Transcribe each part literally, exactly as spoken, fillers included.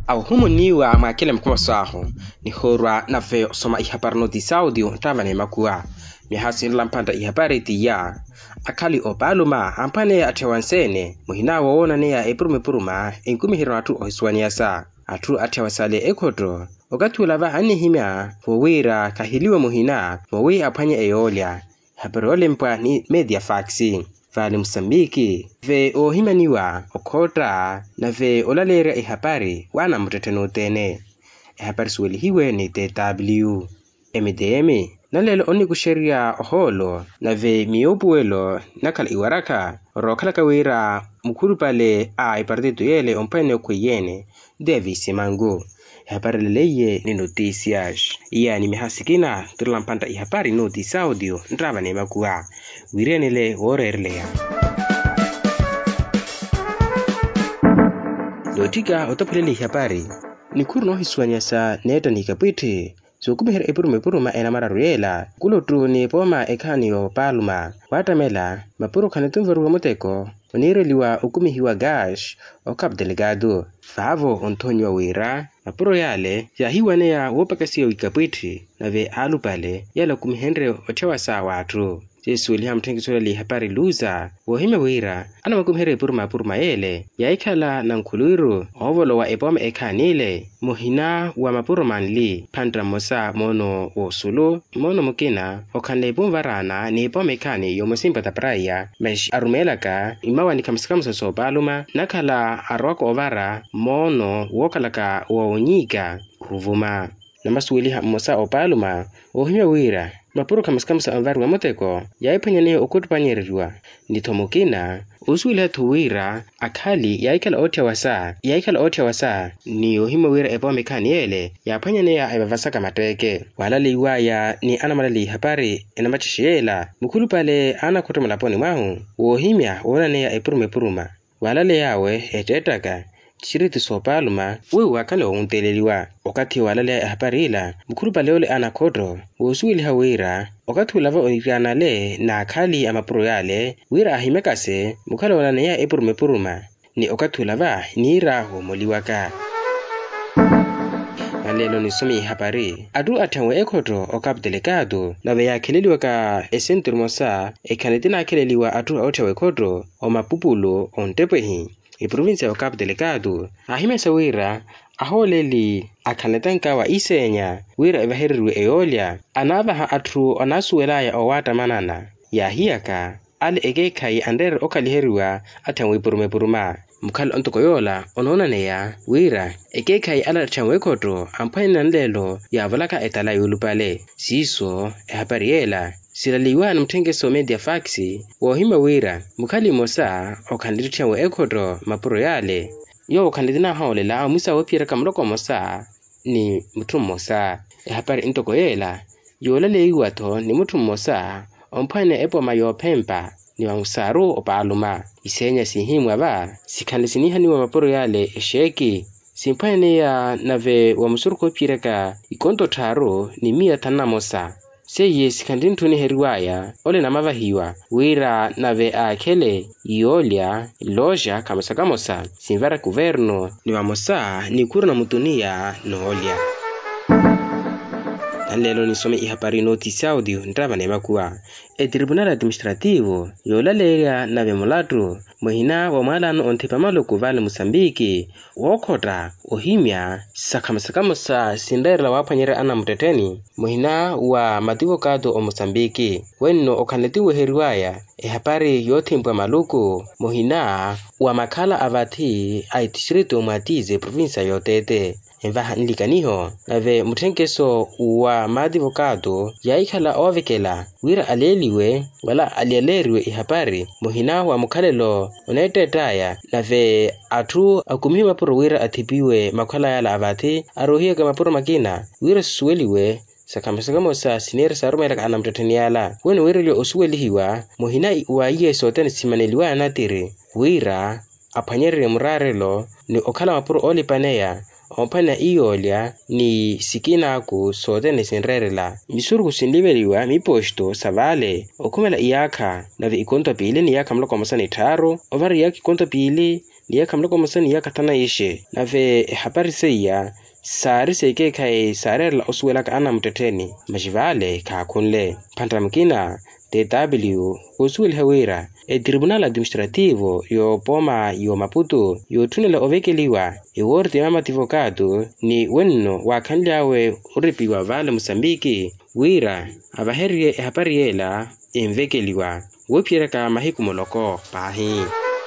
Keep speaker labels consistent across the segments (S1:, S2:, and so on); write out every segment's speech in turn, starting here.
S1: au humu niwa makile mkuma saho ni horwa na fe soma ihabari notice audio ntavane makua mihasi lampanda ihabari tiya akali opaluma ampane atewansene muhina wona ne ya eprume puruma enkumi hiro atu ohiswaniasa atu atewasale ekoto ogatula va hani himya fowira kahiliwa muhina fowi apanye eyolia habarole mpwa ni media faxi vale Msambiki ve ohimaniwa okota na ve olalera ihabari wana muteteno tene ihabari sweli hiwe ni T W M D M nalelo oni kusheria oholo na ve miobuelo nakala iwaraka rokala kawira mukuru pale a ipartido yele ompene kuyene Davis Mango ihabari leye ni noticias yani mihasikina turlampanta ihabari notice audio ndrava ne makua wirenele worerlea lotika otapulele ihabari ni kurno hiswanyasa neta nikapwite so kumihera epurume puruma ena mararuyela kulotu ni poma ekaniyo paluma watamela mapuru kanetumveruwa muteko onireliwa ukumihiwa gash o Cabo Delgado favo Antonio Wira mapuro yale ya hiwanea wopakasiya wikapwiti na ve alupale yala kumihenre otewasa watu Jesu liha mtengisole li habari luza wohime Wira ana makumhere puruma puruma ele ya ikala na nkuluiru ovolo wa epome ekanile muhina wa mapuro manli pandra mosa mono wosulu mono mukina okane bumvarana ni epome ekani yomusimba tapraya mesh arumelaka imawa ni kamsikamusa so baluma nakala arwako ovara mono wokalaka wawonyika ruvuma namasuwiliha mosa opaluma wohime Wira mapuro kamsikamusa anvaru wa moteko yaipanyane okutupanyerwa nitomokina usuila tuwira akali yaikala otia wasa yaikala otia wasa ni ohima Wira epome kaniele yapanyane ya ebavasaka mateke walale iwaya ni anamalali habari enamachishela mukulu pale ana kutomulaponi mwahu wohimya wonane ya epurume puruma walale yawe etetaka chiritu sopaluma wewe wakale onteleliwa wakati walale habari ila mukuru paleole anakodo wosuili Wira wakati ulava onirana le na akali amapuro yale Wira ahimekase mukale walane ya epurume puruma ni wakati ulava nira homoliwaka Alelo ni somi habari adu atangwe ekoto o Cabo Delgado na ve yakeleliwa ka esentro mosa ekanitina akeleliwa adu otewe ekoto o mapupulo ontepwehi i provincia ya Cabo Delgado ahimesa Wira aholeli akanetanka wa isenya Wira evaherirwe eolia anavaha atru anasuelaya owata manana ya hiyaka ale egekai andere okaliheriwa atangwe purume puruma mukal ontokoyola ononaneya Wira egekai ala atangwe koto ampaina nlelo ya valaka etala yulupale siso ehabariela silaliwa na mtengeso media faxi wohima Wira mukali mosa okandiritia we ekoto mapuro yale yo okandidina haolela musa wopira kamloko mosa ni mutum mosa ehabari intokoyela yolale iwato ni mutum mosa ompane epo mayo pempa ni wangusaru opaluma isenya sihimwa ba sikandisiniha ni wa mapuro yale esheki simpane ya nave wa musuruko pireka ikonto taro ni mia tanamosa seye sikandintuni heriwaya ole na mavahiwa Wira nave akele iolia loja kamasakamosa simvara governo ni wamosa ni kuru na mutunia noolia Alelo ni some ihabari notice audio ndrava ne makua e tribunal administrativo yolalera nave mulatu muhina wa malano ontepamalo kuvale Msambiki wokota ohimya sakamasakamosa sindera wapanyera ana muteteni muhina wa madivokado o Msambiki wenno okanetiwe heriwaya ihabari yotimbwa maluku muhina wa makala avati aitishirito mwatize provincia yotete Envaha nilikaniho nave mutengeso wa madivokado yaikala ovekela Wira aleliwe wala alieleriwe ihabari muhina wa mukalelo onetetaya nave atu akumihi mapuro Wira atipiwe makala yala avati arohiya ka mapuro makina Wira suweliwe sakamasakamosa sinera sarumela ana mteteni yala wene Wira osuwelihiwa muhina wa iye soteni simaneliwa anatiri Wira apanyerere murarelo ni okala mapuro olipaneya ompana iolia ni sikina aku sotene sinrerela misuru kusindibeliwa miposto savale okumela iyaka nave ikonto pili ni yaka mloko masani taro ovari yaki konto pili niya kamloko musani ya katana ishe nave habari seya sari seke kai sare la oswela ka ana mteteni majivale ka kunle pandramkina T W usul hawira e tribunal administrativo yo poma yo Maputo yo tunela ovekeliwa e worte mama advogado ni wenno wa kanlawe uripiwa vale Mosambiki wira abaherie e hapariela envekeliwa wopiera ka mahiku moloko pahi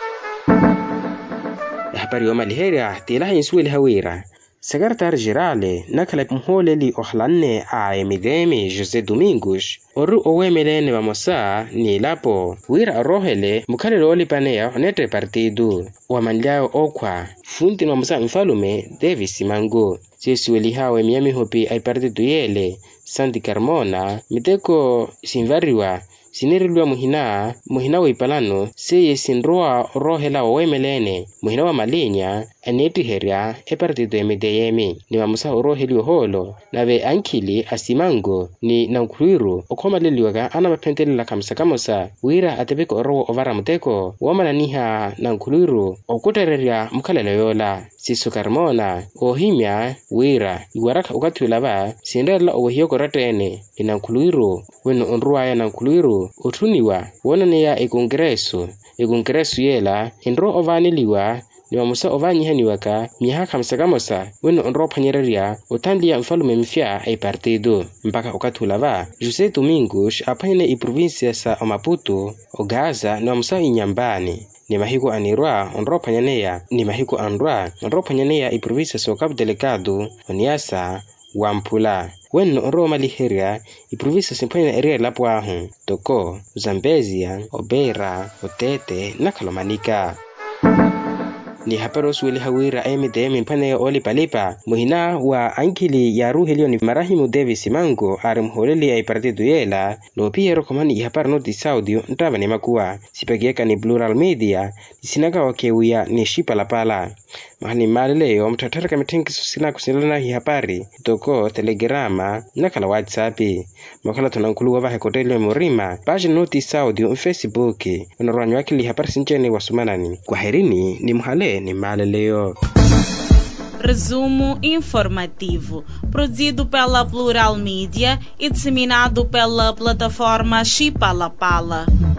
S1: e hapari yo maliheria tela insuel hawira Secretário Geral nakala mholeli ohlanne a emidemi José Domingos oru owemelene vamosa ni lapo wira rohele mukhalelo olipanea onete partido wa manlao okwa funti no musa mfalume Davis Mango sisueli hawe miami hopi ai partido yele Santi Carmona miteko sinvariwa sinirilwa muhina muhina wa ipalano seye sinroa rohela owemelene muhina wa malinya aneti heria e partido emideyemi ni mamusa roheli holo nave ankili asimango ni nankuriru okomaleliwaga ana mapentelela kamsakamosa wira atebeko oro ovara muteko wamananiha nankuriru okutereria mukhalelo yola Sisu Carmona ohimya wira iwaraka ukatulava sindela owohiyoko ratene inankuriru weno onruaya nankuriru utuniwa wonaniya e kongreso e kongreso yela indro ovaniliwa ni mamusa ovanyihaniwaka miha kamsakamosa weno onro panyereria utandia mfalume mfya ai partido mpaka ukatulava José Domingos apanyene i província sa Maputo o Gaza ni mamusa inyambani ni mahiko anirwa onro panyaneya ni mahiko anrwa onro panyaneya i província sa Cabo Delgado oniasa Wampula wenno onro maliheria i província simpanyene eria lapuahu toko Zambezia Obeira Otete na Kalomanika ni haparo sueli hawira emidemi mpane oli palipa muhina wa ankili ya ruhelio ni Marahimu Davis Mango arimholeli ay partido yela no piero komani hapar noti saudio ntava ni makuwa sipagieka ni Plural Media sinaga wakewia ni shipa la pala mahani maleo mtatara kametengi susina kusilana hi hapari toko telegrama na kala WhatsApp makala tunankulu wa hekotelio morima page noti saudio Facebook unaranyo akili hapari sinjeni wasumanani kwa herini ni muhale ni maleo.
S2: Resumo informativo, produzido pela Plural Media e disseminado pela plataforma Chipalapala.